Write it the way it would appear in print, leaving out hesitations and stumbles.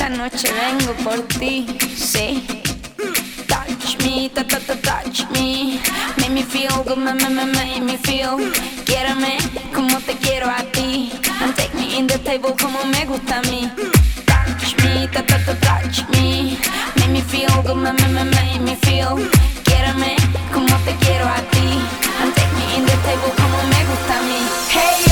esta noche vengo por ti, sí. Touch me, touch me. Make me feel good, make me feel. Quiérame como te quiero a ti. And take me in the table como me gusta a mí. Touch me, touch me. Make me feel good, make me feel. Quiérame como te quiero a ti. And take me in the table como me gusta a mí. Hey.